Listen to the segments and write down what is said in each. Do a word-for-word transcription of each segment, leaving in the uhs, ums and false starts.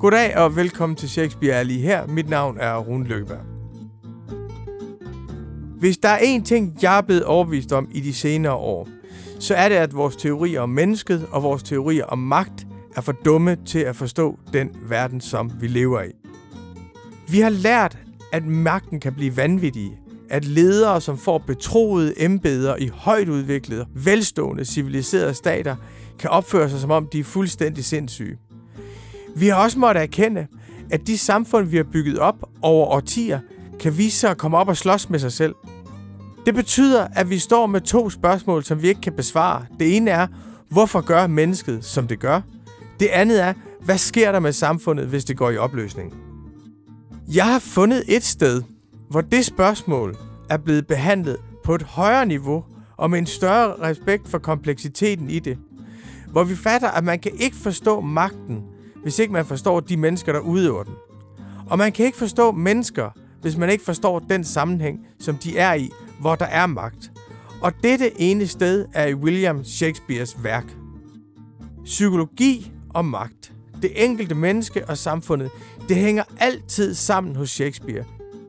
Goddag og velkommen til Shakespeare er lige her. Mit navn er Rune Lykkeberg. Hvis der er én ting, jeg er blevet overbevist om i de senere år, så er det, at vores teorier om mennesket og vores teorier om magt er for dumme til at forstå den verden, som vi lever i. Vi har lært, at magten kan blive vanvittig, at ledere, som får betroede embeder i højt udviklede, velstående, civiliserede stater, kan opføre sig, som om de er fuldstændig sindssyge. Vi har også måttet erkende, at de samfund, vi har bygget op over årtier, kan vise sig at komme op og slås med sig selv. Det betyder, at vi står med to spørgsmål, som vi ikke kan besvare. Det ene er, hvorfor gør mennesket, som det gør? Det andet er, hvad sker der med samfundet, hvis det går i opløsning? Jeg har fundet et sted, hvor det spørgsmål er blevet behandlet på et højere niveau og med en større respekt for kompleksiteten i det. Hvor vi fatter, at man kan ikke forstå magten, hvis ikke man forstår de mennesker, der udøver den. Og man kan ikke forstå mennesker, hvis man ikke forstår den sammenhæng, som de er i, hvor der er magt. Og dette ene sted er i William Shakespeares værk. Psykologi og magt, det enkelte menneske og samfundet, det hænger altid sammen hos Shakespeare.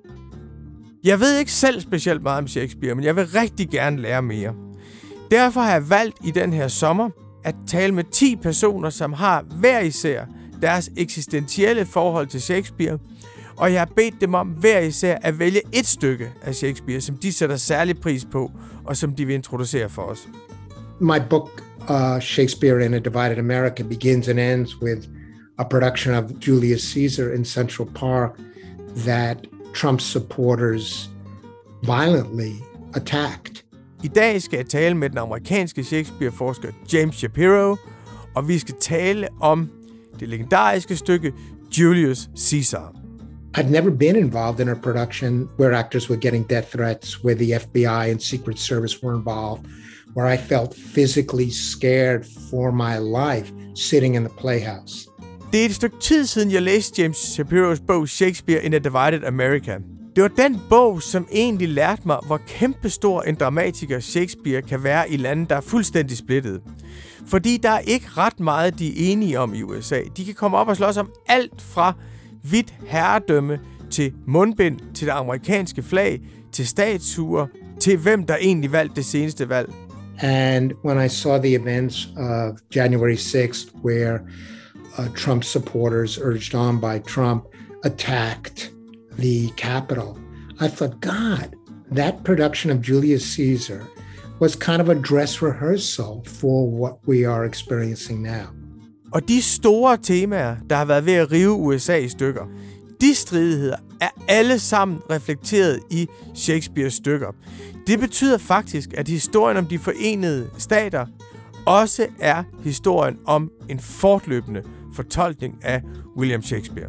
Jeg ved ikke selv specielt meget om Shakespeare, men jeg vil rigtig gerne lære mere. Derfor har jeg valgt i den her sommer at tale med ti personer, som har hver især deres eksistentielle forhold til Shakespeare, og jeg har bedt dem om hver især at vælge et stykke af Shakespeare, som de sætter særlig pris på, og som de vil introducere for os. My book, uh, Shakespeare in a Divided America, begins and ends with a production of Julius Caesar in Central Park that Trump's supporters violently attacked. I dag skal jeg tale med den amerikanske Shakespeare-forsker James Shapiro, og vi skal tale om det legendariske stykke Julius Caesar. I'd never been involved in a production where actors were getting death threats, where the F B I and Secret Service were involved, where I felt physically scared for my life sitting in the playhouse. Det er et stykke tid siden, jeg læste James Shapiros bog Shakespeare in a Divided America. Det var den bog, som egentlig lærte mig, hvor kæmpestor en dramatiker Shakespeare kan være i lande, der er fuldstændig splittet. Fordi der er ikke ret meget, de er enige om i U S A. De kan komme op og slås om alt fra hvidt herredømme til mundbind, til det amerikanske flag, til statuer, til hvem der egentlig valgte det seneste valg. And when I saw the events of January sixth, where uh, Trump supporters, urged on by Trump, attacked the Capitol, I thought, God, that production of Julius Caesar was kind of a dress rehearsal for what we are experiencing now. Og de store temaer, der har været ved at rive U S A i stykker, de stridigheder er alle sammen reflekteret i Shakespeares stykker. Det betyder faktisk, at historien om de forenede stater også er historien om en fortløbende fortolkning af William Shakespeare.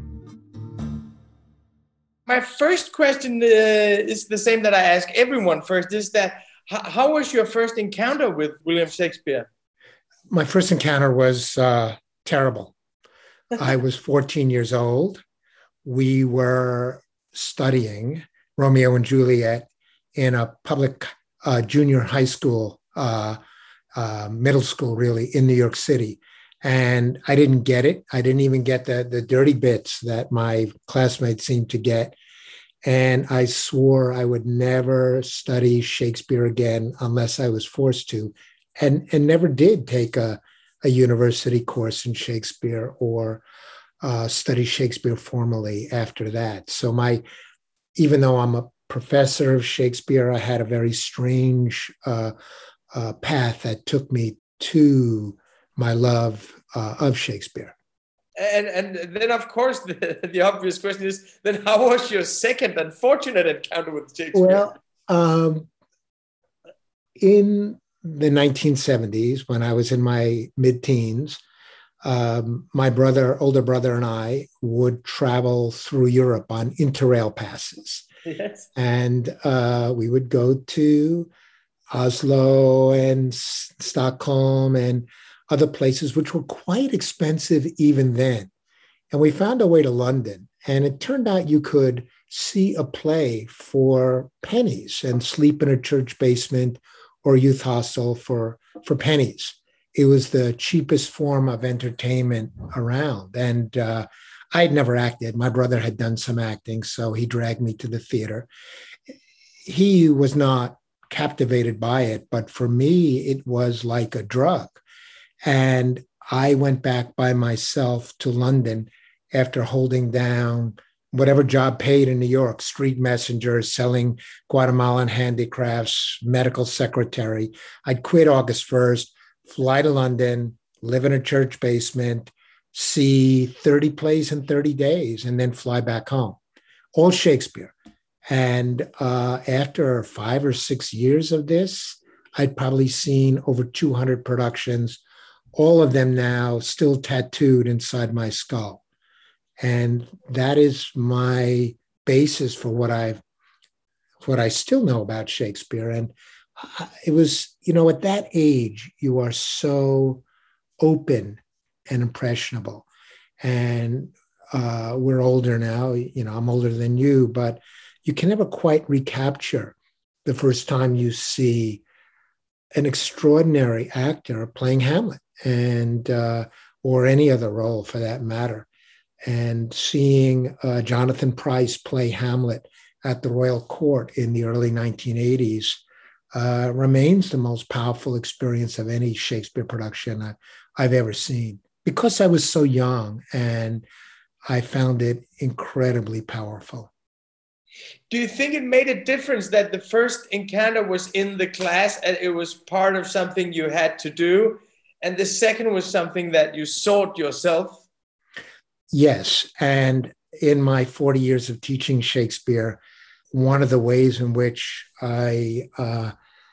My first question uh, is the same that I ask everyone first, is that how was your first encounter with William Shakespeare? My first encounter was uh, terrible. I was fourteen years old. We were studying Romeo and Juliet in a public uh, junior high school, uh, uh, middle school, really, in New York City. And I didn't get it. I didn't even get the, the dirty bits that my classmates seemed to get. And I swore I would never study Shakespeare again unless I was forced to, and, and never did take a, a university course in Shakespeare or uh, study Shakespeare formally after that. So my, even though I'm a professor of Shakespeare, I had a very strange uh, uh, path that took me to my love uh, of Shakespeare. And and then, of course, the, the obvious question is, then how was your second unfortunate encounter with Shakespeare? Well, um, in the nineteen seventies, when I was in my mid-teens, um, my brother, older brother and I would travel through Europe on Interrail passes. Yes. And uh, we would go to Oslo and S- Stockholm and other places, which were quite expensive even then. And we found our way to London, and it turned out you could see a play for pennies and sleep in a church basement or youth hostel for, for pennies. It was the cheapest form of entertainment around. And uh, I had never acted. My brother had done some acting, so he dragged me to the theater. He was not captivated by it, but for me, it was like a drug. And I went back by myself to London after holding down whatever job paid in New York, street messenger, selling Guatemalan handicrafts, medical secretary. I'd quit August first, fly to London, live in a church basement, see thirty plays in thirty days, and then fly back home. All Shakespeare. And uh, after five or six years of this, I'd probably seen over two hundred productions, all of them now still tattooed inside my skull. And that is my basis for what I've, what I still know about Shakespeare. And it was, you know, at that age, you are so open and impressionable. And uh, we're older now, you know, I'm older than you, but you can never quite recapture the first time you see an extraordinary actor playing Hamlet and uh, or any other role for that matter. And seeing uh, Jonathan Pryce play Hamlet at the Royal Court in the early nineteen eighties uh, remains the most powerful experience of any Shakespeare production I, I've ever seen, because I was so young and I found it incredibly powerful. Do you think it made a difference that the first encounter was in the class and it was part of something you had to do, and the second was something that you sought yourself? Yes. And in my forty years of teaching Shakespeare, one of the ways in which I uh,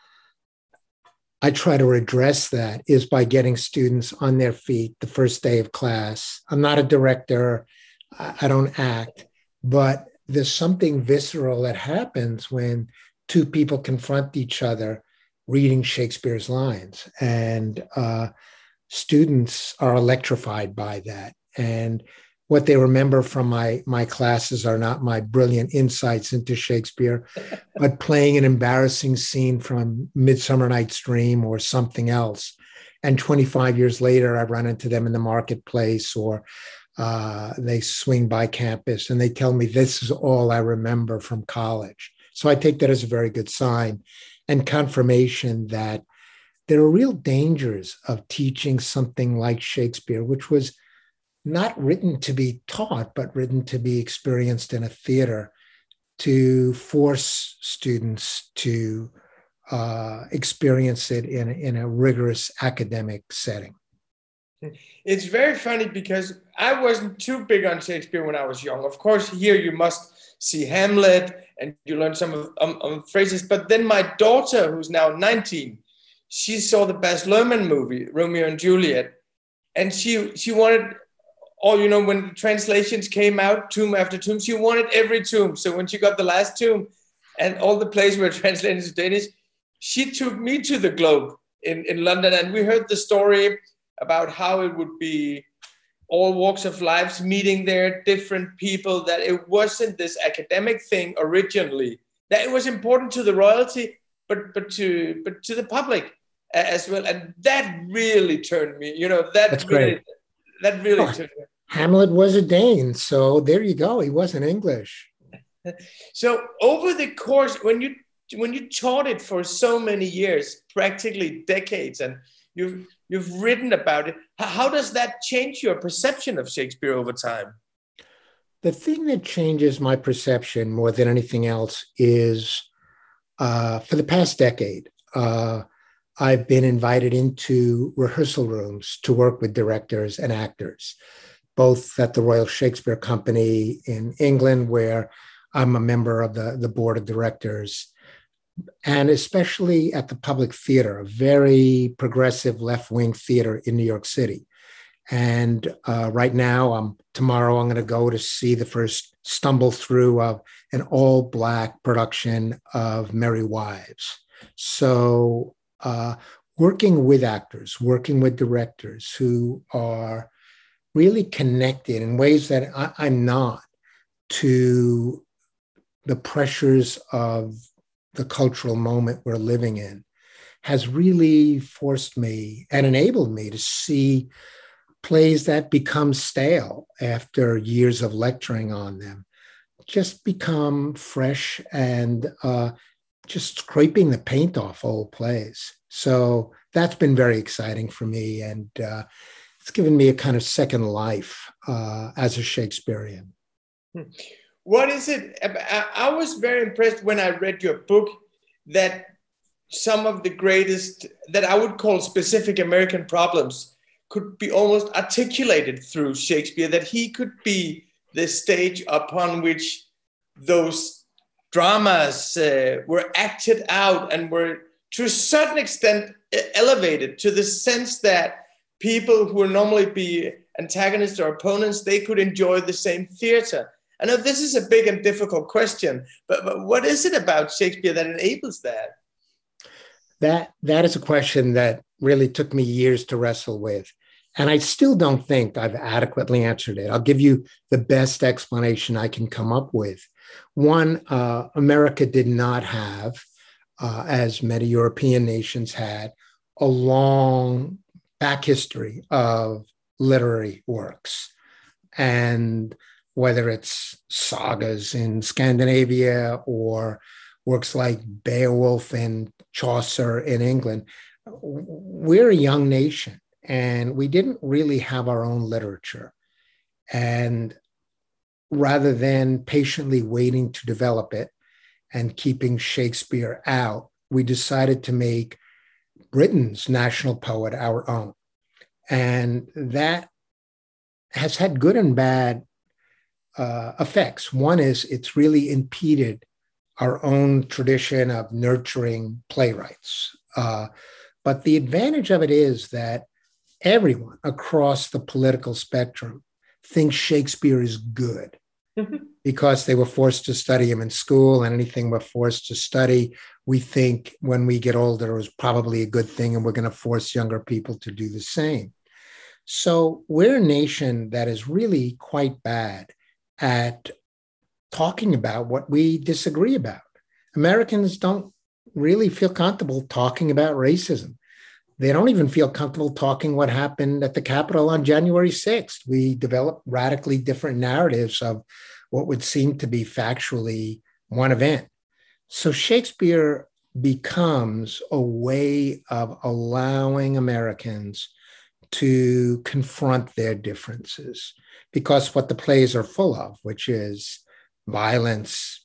I try to address that is by getting students on their feet the first day of class. I'm not a director. I don't act, but there's something visceral that happens when two people confront each other reading Shakespeare's lines. And uh, students are electrified by that. And what they remember from my, my classes are not my brilliant insights into Shakespeare, but playing an embarrassing scene from Midsummer Night's Dream or something else. And twenty-five years later, I run into them in the marketplace, or uh, they swing by campus and they tell me this is all I remember from college. So I take that as a very good sign and confirmation that there are real dangers of teaching something like Shakespeare, which was not written to be taught, but written to be experienced in a theater, to force students to uh, experience it in, in a rigorous academic setting. It's very funny because I wasn't too big on Shakespeare when I was young. Of course, here you must see Hamlet and you learn some of um, um, phrases. But then my daughter, who's now nineteen, she saw the Baz Luhrmann movie, Romeo and Juliet. And she she wanted, or, you know, when the translations came out, tomb after tomb, she wanted every tomb. So when she got the last tomb and all the plays were translated to Danish, she took me to the Globe in, in London. And we heard the story about how it would be all walks of lives meeting there, different people, that it wasn't this academic thing originally, that it was important to the royalty, but but to but to the public as well. And that really turned me, you know, that That's really, great. that really Oh, turned me. Hamlet was a Dane, so there you go. He wasn't English. So over the course, when you when you taught it for so many years, practically decades, and you've you've written about it, how does that change your perception of Shakespeare over time? The thing that changes my perception more than anything else is uh, for the past decade, uh, I've been invited into rehearsal rooms to work with directors and actors, both at the Royal Shakespeare Company in England, where I'm a member of the, the board of directors, and especially at the Public Theater, a very progressive left-wing theater in New York City. And uh, right now, I'm, tomorrow, I'm going to go to see the first stumble through of an all-Black production of Merry Wives. So uh, working with actors, working with directors who are really connected in ways that I, I'm not to the pressures of the cultural moment we're living in, has really forced me and enabled me to see plays that become stale after years of lecturing on them just become fresh and uh, just scraping the paint off old plays. So that's been very exciting for me. And uh, it's given me a kind of second life uh, as a Shakespearean. What is it? I, I was very impressed when I read your book that some of the greatest, that I would call specific American problems, could be almost articulated through Shakespeare, that he could be the stage upon which those dramas uh, were acted out and were to a certain extent elevated to the sense that people who would normally be antagonists or opponents, they could enjoy the same theater. I know this is a big and difficult question, but, but what is it about Shakespeare that enables that? That that is a question that really took me years to wrestle with. And I still don't think I've adequately answered it. I'll give you the best explanation I can come up with. One, uh, America did not have, uh, as many European nations had, a long back history of literary works. And whether it's sagas in Scandinavia or works like Beowulf and Chaucer in England, we're a young nation and we didn't really have our own literature. And rather than patiently waiting to develop it and keeping Shakespeare out, we decided to make Britain's national poet our own. And that has had good and bad uh, effects. One is it's really impeded our own tradition of nurturing playwrights. Uh, but the advantage of it is that everyone across the political spectrum thinks Shakespeare is good because they were forced to study him in school, and anything we're forced to study, we think when we get older is probably a good thing, and we're going to force younger people to do the same. So we're a nation that is really quite bad at talking about what we disagree about. Americans don't really feel comfortable talking about racism. They don't even feel comfortable talking what happened at the Capitol on January sixth. We developed radically different narratives of what would seem to be factually one event. So Shakespeare becomes a way of allowing Americans to confront their differences, because what the plays are full of, which is violence,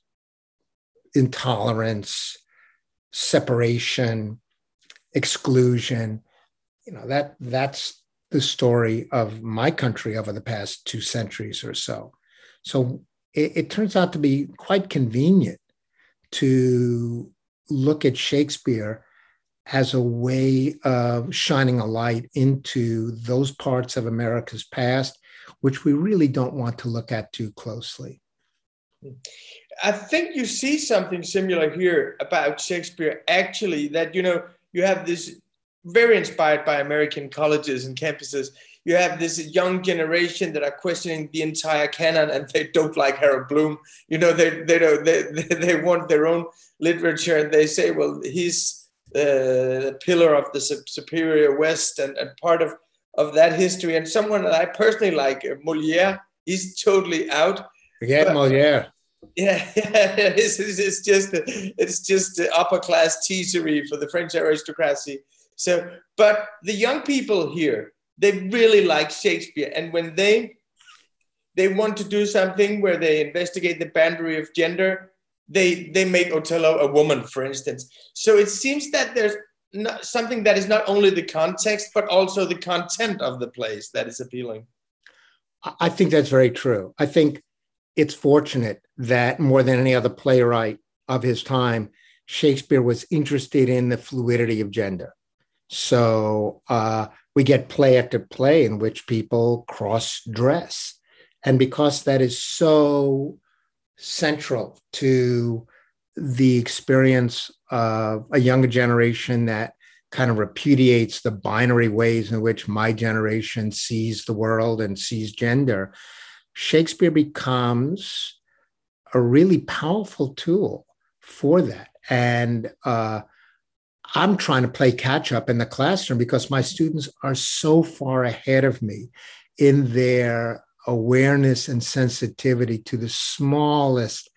intolerance, separation, exclusion, you know, that that's the story of my country over the past two centuries or so. So it, it turns out to be quite convenient to look at Shakespeare as a way of shining a light into those parts of America's past, which we really don't want to look at too closely. I think you see something similar here about Shakespeare, actually, that, you know, you have this very inspired by American colleges and campuses. You have this young generation that are questioning the entire canon, and they don't like Harold Bloom. You know, they they don't they they want their own literature, and they say, well, he's uh, the pillar of the superior West and, and part of, of that history. And someone that I personally like, Molière, he's totally out. Forget but, Molière. Yeah, yeah, it's, it's just it's just upper class teasery for the French aristocracy. So, but the young people here, they really like Shakespeare, and when they they want to do something where they investigate the boundary of gender, they they make Othello a woman, for instance. So it seems that there's not something that is not only the context but also the content of the plays that is appealing. I think that's very true. I think it's fortunate that more than any other playwright of his time, Shakespeare was interested in the fluidity of gender. So uh, we get play after play in which people cross-dress. And because that is so central to the experience of a younger generation that kind of repudiates the binary ways in which my generation sees the world and sees gender, Shakespeare becomes a really powerful tool for that. And uh, I'm trying to play catch up in the classroom because my students are so far ahead of me in their awareness and sensitivity to the smallest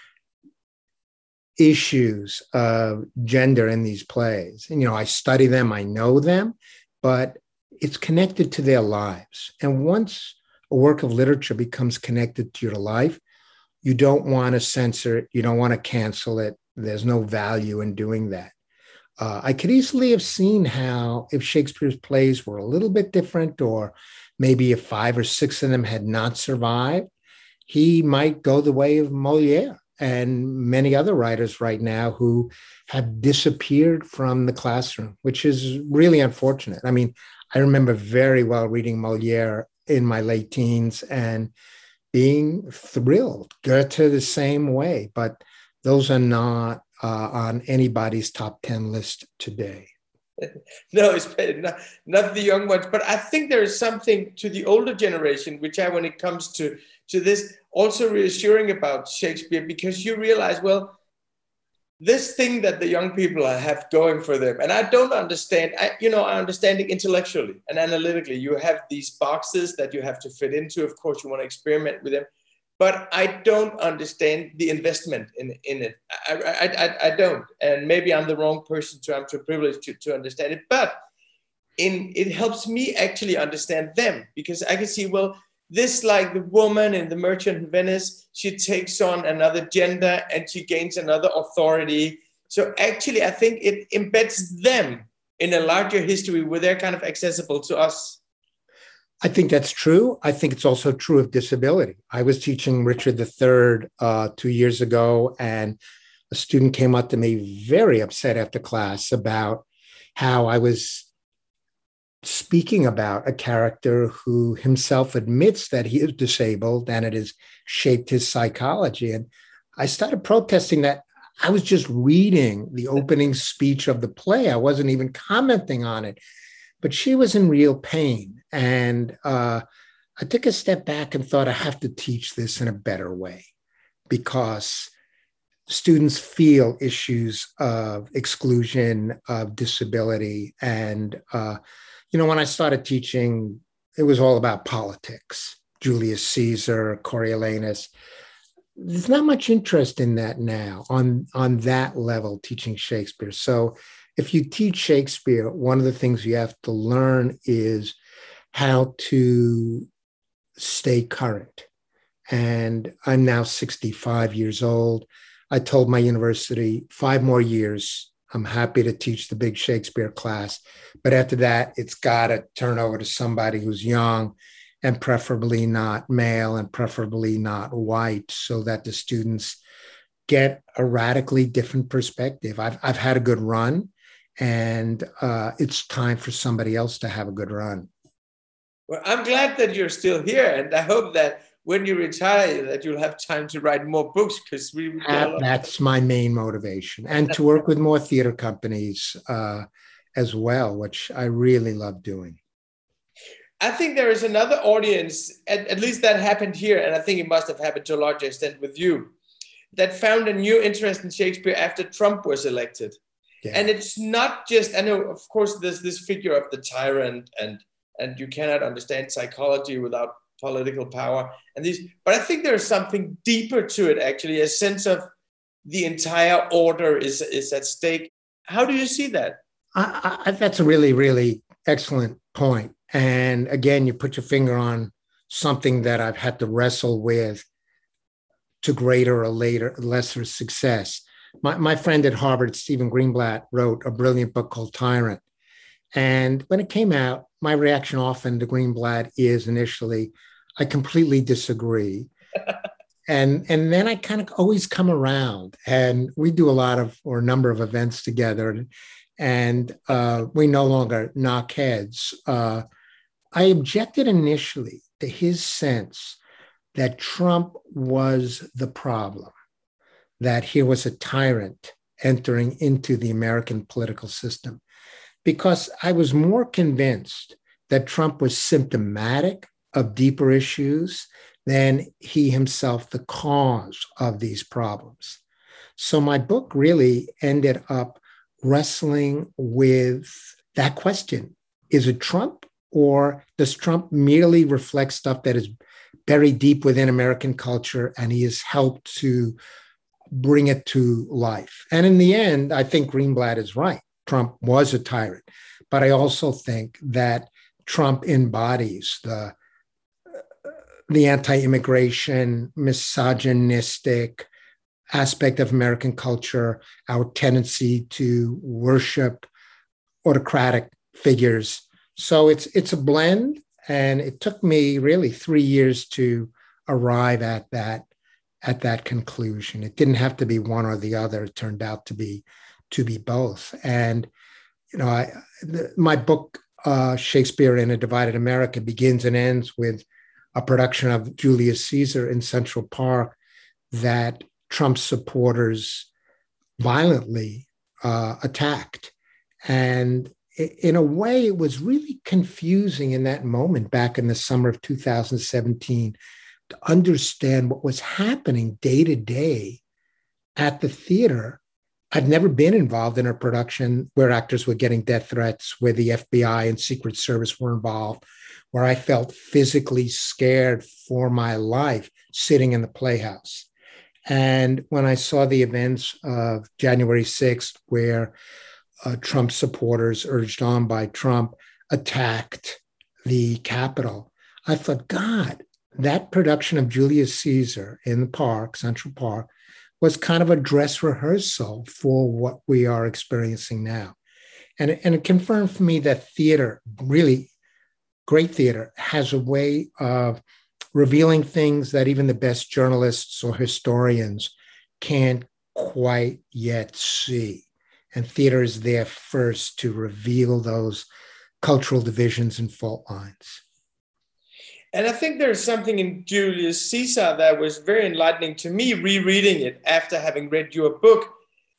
issues of gender in these plays. And, you know, I study them, I know them, but it's connected to their lives. And once a work of literature becomes connected to your life, you don't want to censor it. You don't want to cancel it. There's no value in doing that. Uh, I could easily have seen how if Shakespeare's plays were a little bit different, or maybe if five or six of them had not survived, he might go the way of Moliere and many other writers right now who have disappeared from the classroom, which is really unfortunate. I mean, I remember very well reading Moliere in my late teens and being thrilled. Goethe the same way, but those are not uh, on anybody's top ten list today. No, it's not, not the young ones, but I think there is something to the older generation, which I, when it comes to, to this, also reassuring about Shakespeare, because you realize, well, this thing that the young people have going for them, and I don't understand, I, you know, I understand it intellectually and analytically. You have these boxes that you have to fit into. Of course, you want to experiment with them, but I don't understand the investment in, in it. I, I, I, I don't, and maybe I'm the wrong person to, I'm too privileged to, to understand it, but in, it helps me actually understand them, because I can see, well, this, like the woman in The Merchant in Venice, she takes on another gender and she gains another authority. So actually, I think it embeds them in a larger history where they're kind of accessible to us. I think that's true. I think it's also true of disability. I was teaching Richard the Third uh, two years ago, and a student came up to me very upset after class about how I was speaking about a character who himself admits that he is disabled and it has shaped his psychology. And I started protesting that I was just reading the opening speech of the play. I wasn't even commenting on it, but she was in real pain. And uh, I took a step back and thought, I have to teach this in a better way, because students feel issues of exclusion, of disability, and uh, you know, when I started teaching, it was all about politics, Julius Caesar, Coriolanus. There's not much interest in that now on, on that level, teaching Shakespeare. So if you teach Shakespeare, one of the things you have to learn is how to stay current. And I'm now sixty-five years old. I told my university, five more years, I'm happy to teach the big Shakespeare class. But after that, it's got to turn over to somebody who's young and preferably not male and preferably not white, so that the students get a radically different perspective. I've, I've had a good run, and uh, it's time for somebody else to have a good run. Well, I'm glad that you're still here, and I hope that when you retire, that you'll have time to write more books, because we uh, that's my main motivation, and to work with more theater companies uh, as well, which I really love doing. I think there is another audience, at, at least that happened here, and I think it must have happened to a larger extent with you, that found a new interest in Shakespeare after Trump was elected. Yeah. And it's not just, I know, of course, there's this figure of the tyrant, and and you cannot understand psychology without political power and these, but I think there's something deeper to it, actually, a sense of the entire order is, is at stake. How do you see that? I, I, that's a really, really excellent point. And again, you put your finger on something that I've had to wrestle with to greater or later, lesser success. My, my friend at Harvard, Stephen Greenblatt, wrote a brilliant book called Tyrant. And when it came out, my reaction often to Greenblatt is initially, I completely disagree. and, and then I kind of always come around, and we do a lot of, or a number of events together, and uh, we no longer knock heads. Uh, I objected initially to his sense that Trump was the problem, that he was a tyrant entering into the American political system, because I was more convinced that Trump was symptomatic of deeper issues than he himself the cause of these problems. So my book really ended up wrestling with that question. Is it Trump, or does Trump merely reflect stuff that is buried deep within American culture and he has helped to bring it to life? And in the end, I think Greenblatt is right. Trump was a tyrant. But I also think that Trump embodies the, the anti-immigration, misogynistic aspect of American culture, our tendency to worship autocratic figures. So it's it's a blend, and it took me really three years to arrive at that at that conclusion. It didn't have to be one or the other. It turned out to be to be both. And you know, I, the, my book uh, Shakespeare in a Divided America begins and ends with a production of Julius Caesar in Central Park that Trump supporters violently uh, attacked. And in a way, it was really confusing in that moment back in the summer of two thousand seventeen to understand what was happening day to day at the theater. I'd never been involved in a production where actors were getting death threats, where the F B I and Secret Service were involved, where I felt physically scared for my life sitting in the Playhouse. And when I saw the events of January sixth, where uh, Trump supporters, urged on by Trump, attacked the Capitol, I thought, God, that production of Julius Caesar in the park, Central Park, was kind of a dress rehearsal for what we are experiencing now. And, and it confirmed for me that theater, really great theater, has a way of revealing things that even the best journalists or historians can't quite yet see. And theater is there first to reveal those cultural divisions and fault lines. And I think there's something in Julius Caesar that was very enlightening to me, rereading it after having read your book,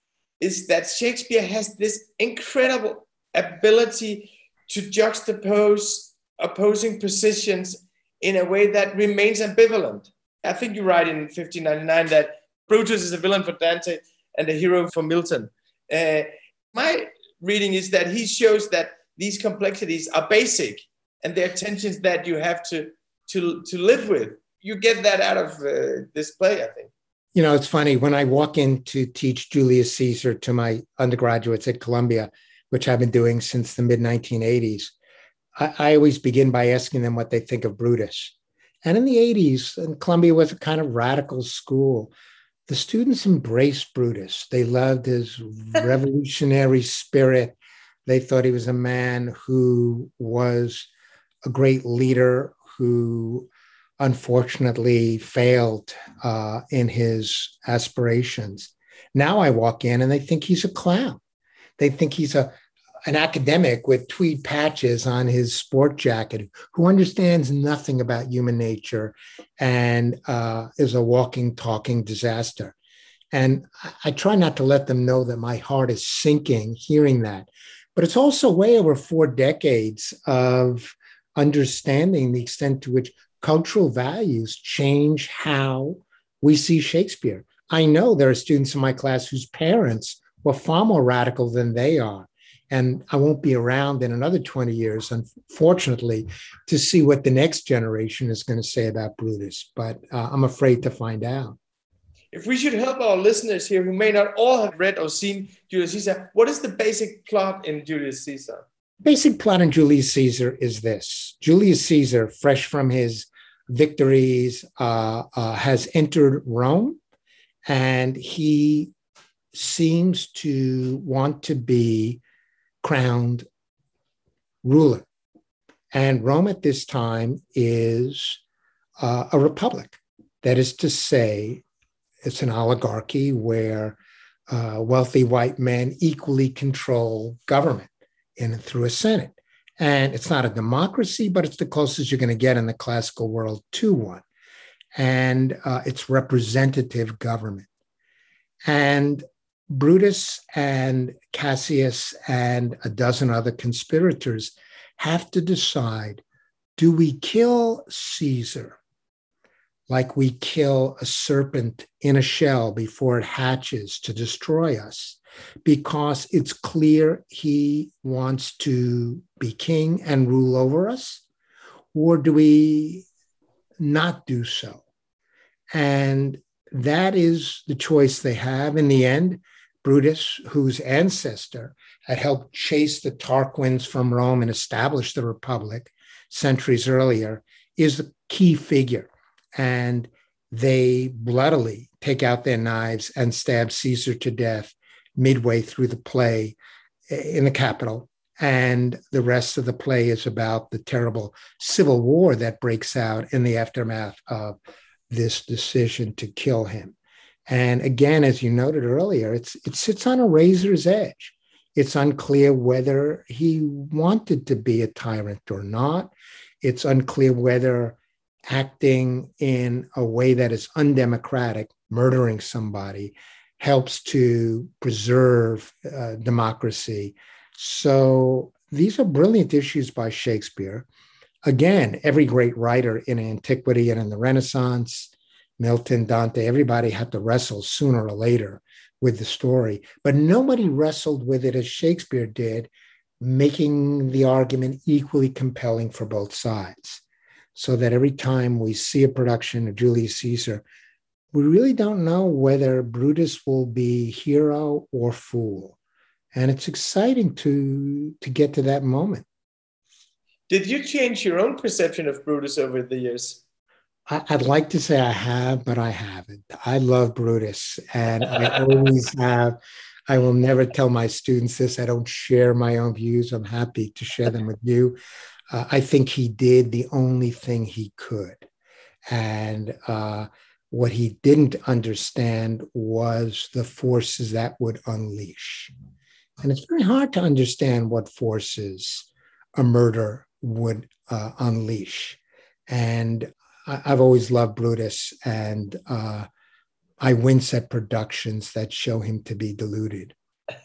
is that Shakespeare has this incredible ability to juxtapose opposing positions in a way that remains ambivalent. I think you write in fifteen ninety-nine that Brutus is a villain for Dante and a hero for Milton. Uh, my reading is that he shows that these complexities are basic and they're tensions that you have to, to, to live with. You get that out of uh, this play, I think. You know, it's funny, when I walk in to teach Julius Caesar to my undergraduates at Columbia, which I've been doing since the mid nineteen eighties, I, I always begin by asking them what they think of Brutus. And in the eighties, and Columbia was a kind of radical school, the students embraced Brutus. They loved his revolutionary spirit. They thought he was a man who was a great leader who unfortunately failed uh, in his aspirations. Now I walk in and they think he's a clown. They think he's a an academic with tweed patches on his sport jacket who understands nothing about human nature and uh, is a walking, talking disaster. And I, I try not to let them know that my heart is sinking hearing that. But it's also way over four decades of understanding the extent to which cultural values change how we see Shakespeare. I know there are students in my class whose parents were far more radical than they are. And I won't be around in another twenty years, unfortunately, to see what the next generation is going to say about Brutus. But uh, I'm afraid to find out. If we should help our listeners here who may not all have read or seen Julius Caesar, what is the basic plot in Julius Caesar? Basic plot in Julius Caesar is this. Julius Caesar, fresh from his victories, uh, uh, has entered Rome, and he seems to want to be crowned ruler. And Rome at this time is uh, a republic. That is to say, it's an oligarchy where uh, wealthy white men equally control government in and through a Senate. And it's not a democracy, but it's the closest you're going to get in the classical world to one. And uh, it's representative government. And Brutus and Cassius and a dozen other conspirators have to decide, do we kill Caesar like we kill a serpent in a shell before it hatches to destroy us, because it's clear he wants to be king and rule over us? Or do we not do so? And that is the choice they have. In the end, Brutus, whose ancestor had helped chase the Tarquins from Rome and establish the Republic centuries earlier, is the key figure. And they bloodily take out their knives and stab Caesar to death midway through the play in the Capitol. And the rest of the play is about the terrible civil war that breaks out in the aftermath of this decision to kill him. And again, as you noted earlier, it's it sits on a razor's edge. It's unclear whether he wanted to be a tyrant or not. It's unclear whether acting in a way that is undemocratic, murdering somebody, helps to preserve uh, democracy. So these are brilliant issues by Shakespeare. Again, every great writer in antiquity and in the Renaissance, Milton, Dante, everybody had to wrestle sooner or later with the story, but nobody wrestled with it as Shakespeare did, making the argument equally compelling for both sides. So that every time we see a production of Julius Caesar, we really don't know whether Brutus will be hero or fool. And it's exciting to, to get to that moment. Did you change your own perception of Brutus over the years? I, I'd like to say I have, but I haven't. I love Brutus, and I always have. I will never tell my students this. I don't share my own views. I'm happy to share them with you. Uh, I think he did the only thing he could. And uh, what he didn't understand was the forces that would unleash. And it's very hard to understand what forces a murder would uh, unleash. And I, I've always loved Brutus, and uh, I wince at productions that show him to be deluded.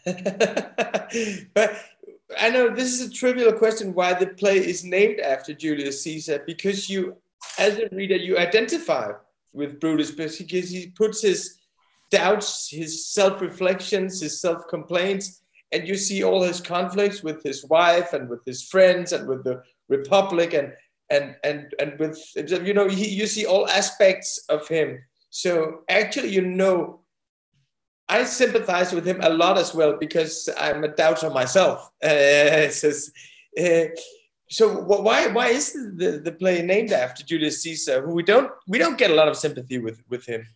But I know this is a trivial question, why the play is named after Julius Caesar, because you, as a reader, you identify with Brutus because he puts his doubts, his self-reflections, his self-complaints, and you see all his conflicts with his wife and with his friends and with the Republic and and and and with, you know, he, you see all aspects of him. So actually, you know, I sympathize with him a lot as well because I'm a doubter myself. Uh, so, uh, so why why is the, the play named after Julius Caesar, who we don't we don't get a lot of sympathy with with him?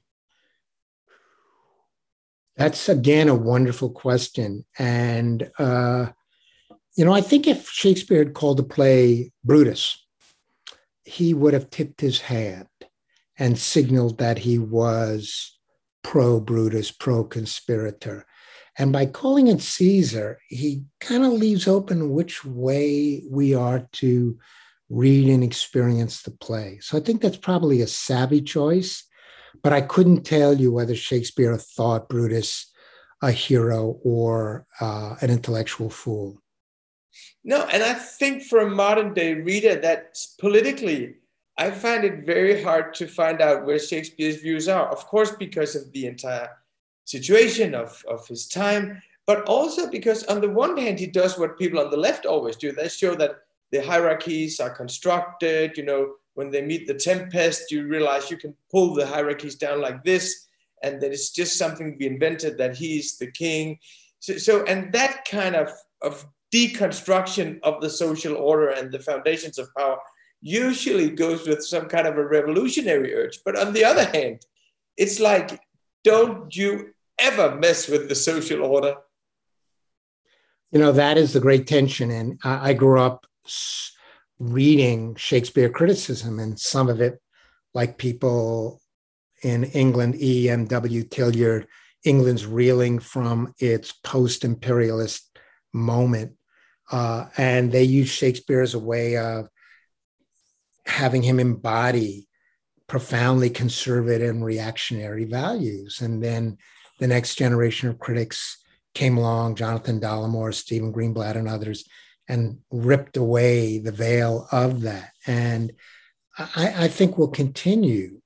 That's, again, a wonderful question. And, uh, you know, I think if Shakespeare had called the play Brutus, he would have tipped his hand and signaled that he was pro-Brutus, pro-conspirator. And by calling it Caesar, he kind of leaves open which way we are to read and experience the play. So I think that's probably a savvy choice. But I couldn't tell you whether Shakespeare thought Brutus a hero or uh, an intellectual fool. No, and I think for a modern day reader that politically, I find it very hard to find out where Shakespeare's views are. Of course, because of the entire situation of, of his time, but also because on the one hand, he does what people on the left always do. They show that the hierarchies are constructed, you know, when they meet the tempest, you realize you can pull the hierarchies down like this, and that it's just something we invented, that he's the king. So, so and that kind of, of deconstruction of the social order and the foundations of power usually goes with some kind of a revolutionary urge. But on the other hand, it's like, don't you ever mess with the social order. You know, that is the great tension. And I, I grew up reading Shakespeare criticism, and some of it, like people in England, E M W Tilliard, England's reeling from its post-imperialist moment. Uh, and they use Shakespeare as a way of having him embody profoundly conservative and reactionary values. And then the next generation of critics came along, Jonathan Dollimore, Stephen Greenblatt, and others, and ripped away the veil of that. And I, I think we'll continue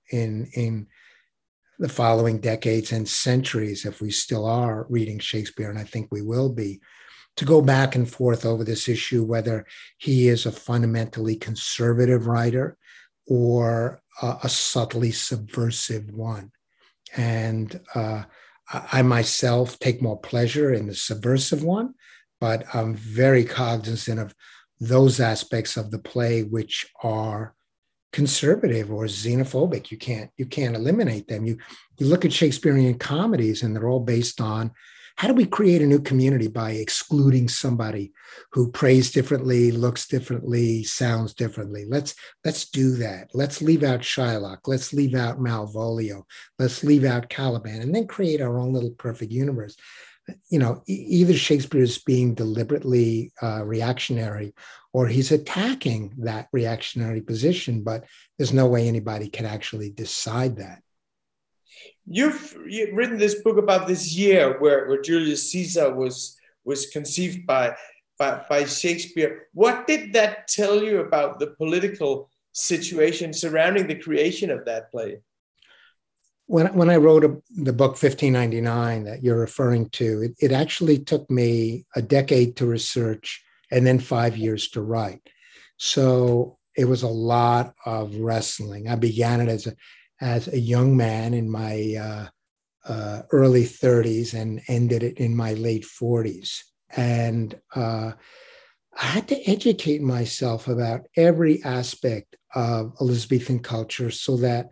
in, in the following decades and centuries, if we still are reading Shakespeare, and I think we will be, to go back and forth over this issue, whether he is a fundamentally conservative writer or uh, a subtly subversive one. And uh, I myself take more pleasure in the subversive one, but I'm very cognizant of those aspects of the play which are conservative or xenophobic. You can't you can't eliminate them. You you look at Shakespearean comedies, and they're all based on how do we create a new community by excluding somebody who prays differently, looks differently, sounds differently. Let's let's do that. Let's leave out Shylock. Let's leave out Malvolio. Let's leave out Caliban, and then create our own little perfect universe. You know, e- either Shakespeare is being deliberately uh, reactionary, or he's attacking that reactionary position, but there's no way anybody can actually decide that. You've, you've written this book about this year where, where Julius Caesar was was conceived by, by by Shakespeare. What did that tell you about the political situation surrounding the creation of that play? When, when I wrote a, the book fifteen ninety-nine that you're referring to, it, it actually took me a decade to research and then five years to write. So it was a lot of wrestling. I began it as a as a young man in my uh, uh, early thirties and ended it in my late forties. And uh, I had to educate myself about every aspect of Elizabethan culture so that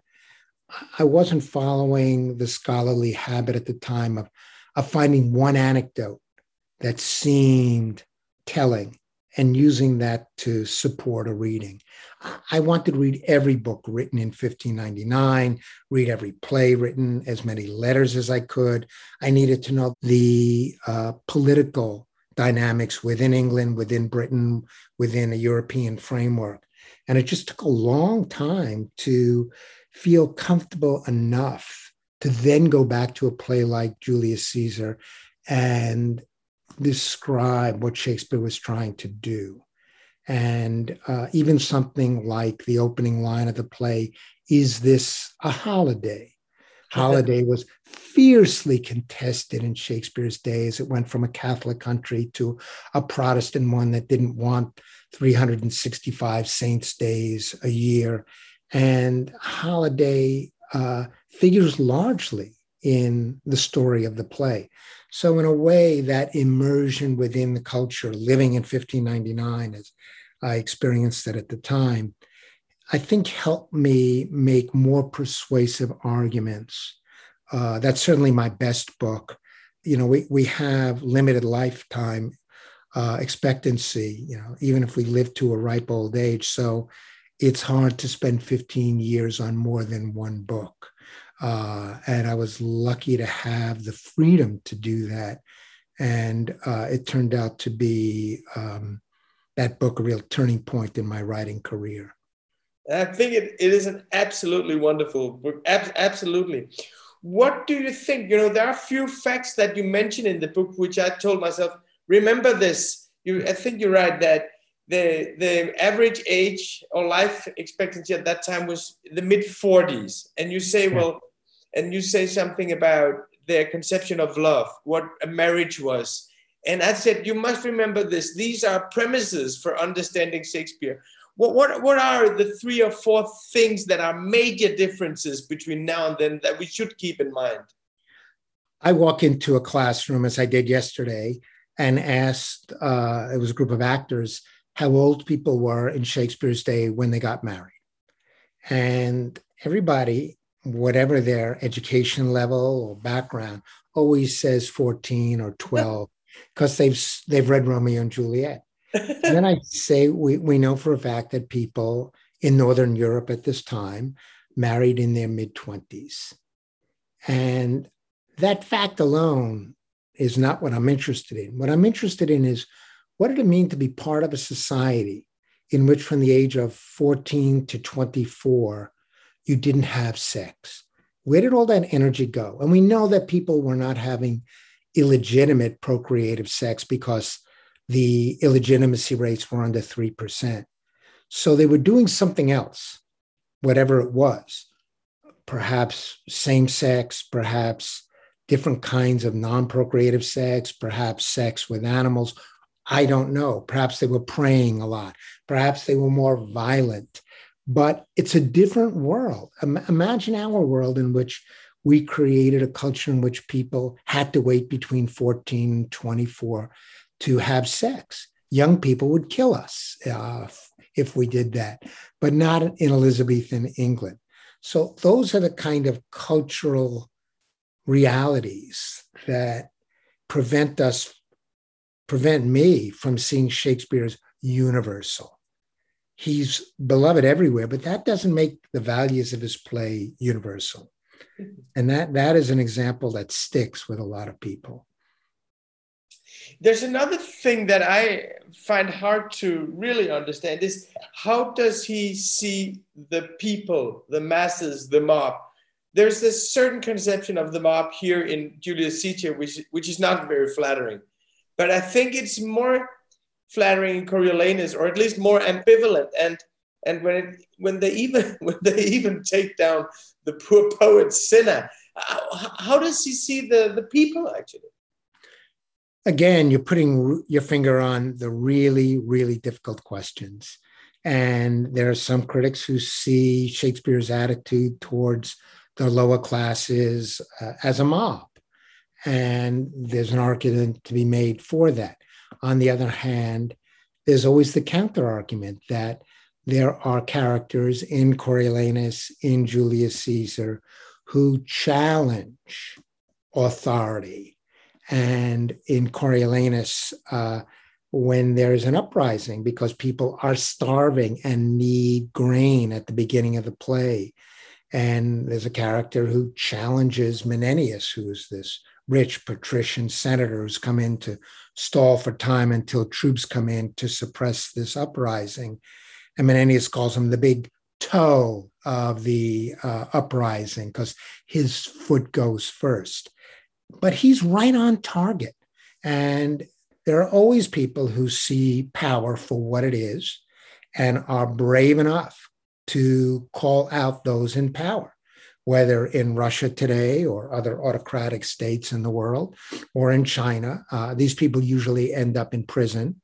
I wasn't following the scholarly habit at the time of, of finding one anecdote that seemed telling and using that to support a reading. I wanted to read every book written in fifteen ninety-nine, read every play written, as many letters as I could. I needed to know the uh, political dynamics within England, within Britain, within a European framework. And it just took a long time to feel comfortable enough to then go back to a play like Julius Caesar and describe what Shakespeare was trying to do. And uh, even something like the opening line of the play, is this a holiday? Holiday was fiercely contested in Shakespeare's days. It went from a Catholic country to a Protestant one that didn't want three hundred sixty-five saints' days a year. And holiday uh, figures largely in the story of the play. So in a way, that immersion within the culture, living in fifteen ninety-nine, as I experienced it at the time, I think helped me make more persuasive arguments. Uh, that's certainly my best book. You know, we, we have limited lifetime uh, expectancy, you know, even if we live to a ripe old age. So it's hard to spend fifteen years on more than one book. Uh, and I was lucky to have the freedom to do that. And uh, it turned out to be um, that book a real turning point in my writing career. I think it, it is an absolutely wonderful book. Ab- absolutely. What do you think? You know, there are a few facts that you mention in the book, which I told myself, remember this. You, I think you're right that the the average age or life expectancy at that time was the mid forties. And you say, yeah. well, and you say something about their conception of love, what a marriage was. And I said, you must remember this. These are premises for understanding Shakespeare. What, what, what are the three or four things that are major differences between now and then that we should keep in mind? I walk into a classroom, as I did yesterday, and asked, uh, it was a group of actors, how old people were in Shakespeare's day when they got married. And everybody, whatever their education level or background, always says fourteen or twelve because they've they've read Romeo and Juliet. And then I say, we, we know for a fact that people in Northern Europe at this time married in their mid-twenties. And that fact alone is not what I'm interested in. What I'm interested in is, what did it mean to be part of a society in which from the age of fourteen to twenty-four, you didn't have sex? Where did all that energy go? And we know that people were not having illegitimate procreative sex because the illegitimacy rates were under three percent. So they were doing something else, whatever it was. perhaps same sex, perhaps different kinds of non-procreative sex, perhaps sex with animals. I don't know. Perhaps they were praying a lot. Perhaps they were more violent. But it's a different world. Imagine our world in which we created a culture in which people had to wait between fourteen and twenty-four to have sex. Young people would kill us uh, if we did that, but not in Elizabethan England. So those are the kind of cultural realities that prevent us, prevent me from seeing Shakespeare as universal. He's beloved everywhere, but that doesn't make the values of his play universal. And that, that is an example that sticks with a lot of people. There's another thing that I find hard to really understand is how does he see the people, the masses, the mob? There's this certain conception of the mob here in Julius Caesar, which, which is not very flattering. But I think it's more flattering in Coriolanus, or at least more ambivalent. And and when it, when they even when they even take down the poor poet Cinna, how, how does he see the, the people actually? Again, you're putting your finger on the really, really difficult questions. And there are some critics who see Shakespeare's attitude towards the lower classes uh, as a mob. And there's an argument to be made for that. On the other hand, there's always the counter argument that there are characters in Coriolanus, in Julius Caesar, who challenge authority. And in Coriolanus, uh, when there's an uprising because people are starving and need grain at the beginning of the play, and there's a character who challenges Menenius, who's this rich patrician senator who's come in to stall for time until troops come in to suppress this uprising. And Menenius calls him the big toe of the uh, uprising because his foot goes first. But he's right on target. And there are always people who see power for what it is and are brave enough to call out those in power, whether in Russia today or other autocratic states in the world or in China. Uh, these people usually end up in prison.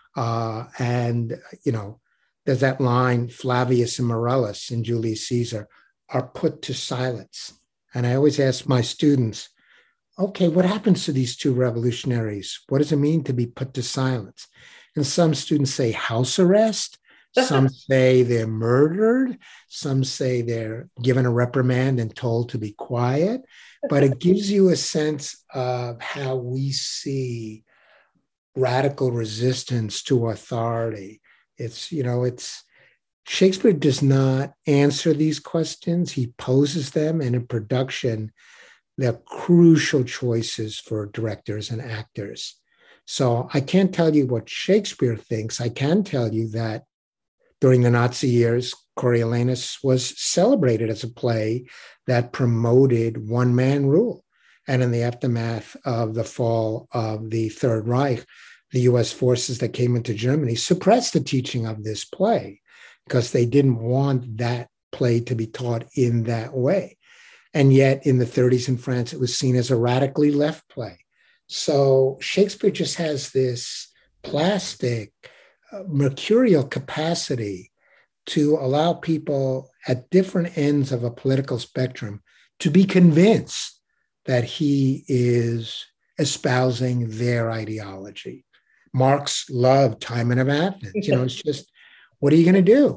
Uh, and, you know, there's that line, Flavius and Morellus in Julius Caesar are put to silence. And I always ask my students, okay, what happens to these two revolutionaries? What does it mean to be put to silence? And some students say house arrest. Some say they're murdered. Some say they're given a reprimand and told to be quiet. But it gives you a sense of how we see radical resistance to authority. It's, you know, it's Shakespeare does not answer these questions. He poses them, and in production, they're crucial choices for directors and actors. So I can't tell you what Shakespeare thinks. I can tell you that during the Nazi years, Coriolanus was celebrated as a play that promoted one-man rule. And in the aftermath of the fall of the Third Reich, the U S forces that came into Germany suppressed the teaching of this play because they didn't want that play to be taught in that way. And yet in the thirties in France, it was seen as a radically left play. So Shakespeare just has this plastic, uh, mercurial capacity to allow people at different ends of a political spectrum to be convinced that he is espousing their ideology. Marx loved Timon of Athens. You know, it's just, what are you going to do?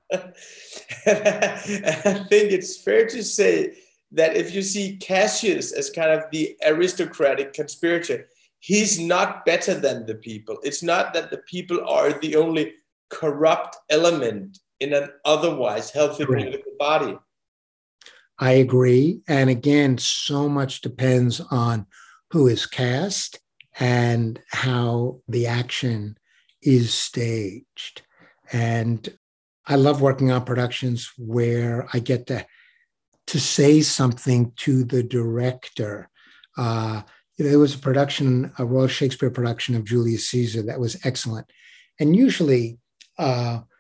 I think it's fair to say that if you see Cassius as kind of the aristocratic conspirator, he's not better than the people. It's not that the people are the only corrupt element in an otherwise healthy Correct. Political body. I agree. And again, so much depends on who is cast and how the action is staged. And I love working on productions where I get to, to say something to the director. Uh, there was a production, a Royal Shakespeare production of Julius Caesar that was excellent. And usually uh,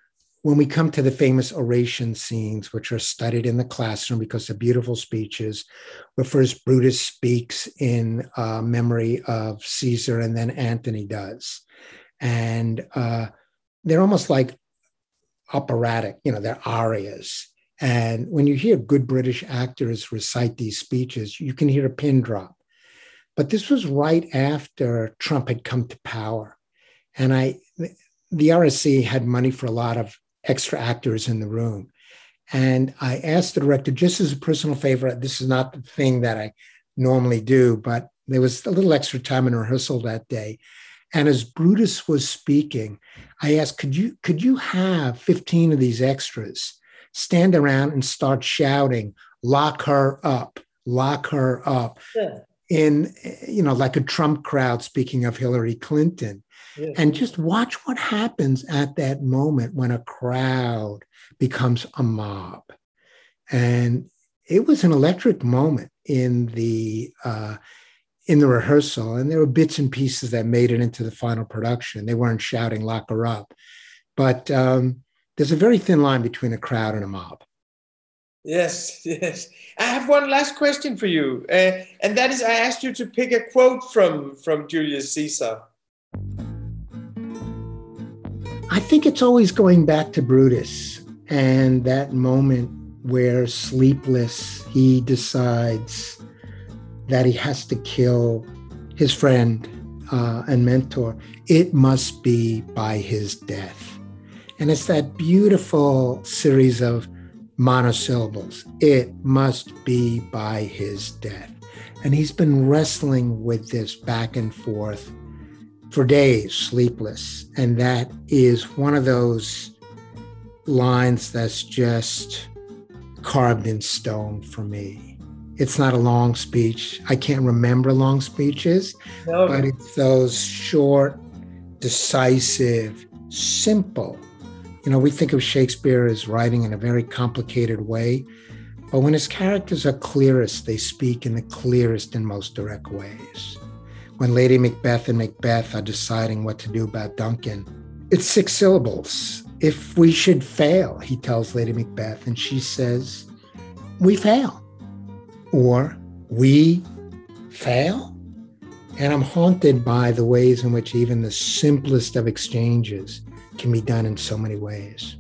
when we come to the famous oration scenes, which are studied in the classroom because they're beautiful speeches, where first Brutus speaks in uh, memory of Caesar and then Antony does. And uh, they're almost like operatic, you know, they're arias. And when you hear good British actors recite these speeches, you can hear a pin drop. But this was right after Trump had come to power. And I, the R S C had money for a lot of extra actors in the room. And I asked the director, just as a personal favor, this is not the thing that I normally do, but there was a little extra time in rehearsal that day. And as Brutus was speaking, I asked, could you, could you have fifteen of these extras stand around and start shouting, lock her up, lock her up, yeah. in, you know, like a Trump crowd speaking of Hillary Clinton. Yeah. And just watch what happens at that moment when a crowd becomes a mob. And it was an electric moment in the uh, in the rehearsal. And there were bits and pieces that made it into the final production. They weren't shouting, lock her up. But um, there's a very thin line between a crowd and a mob. Yes, yes. I have one last question for you. Uh, and that is, I asked you to pick a quote from, from Julius Caesar. I think it's always going back to Brutus and that moment where, sleepless, he decides that he has to kill his friend uh, and mentor. It must be by his death. And it's that beautiful series of monosyllables. It must be by his death. And he's been wrestling with this back and forth for days, sleepless. And that is one of those lines that's just carved in stone for me. It's not a long speech. I can't remember long speeches, no. But it's those short, decisive, simple. You know, we think of Shakespeare as writing in a very complicated way, but when his characters are clearest, they speak in the clearest and most direct ways. When Lady Macbeth and Macbeth are deciding what to do about Duncan, it's six syllables. If we should fail, he tells Lady Macbeth, and she says, we fail. Or, we fail? And I'm haunted by the ways in which even the simplest of exchanges can be done in so many ways.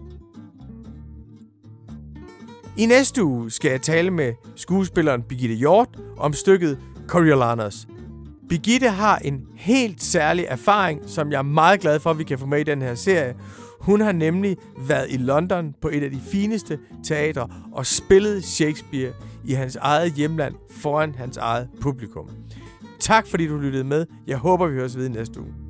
I næste uge skal jeg tale med skuespilleren Birgitte Hjort om stykket Coriolanus. Birgitte har en helt særlig erfaring, som jeg er meget glad for, at vi kan få med i den her serie. Hun har nemlig været i London på et af de fineste teatre og spillet Shakespeare i hans eget hjemland foran hans eget publikum. Tak fordi du lyttede med. Jeg håber, vi høres ved næste uge.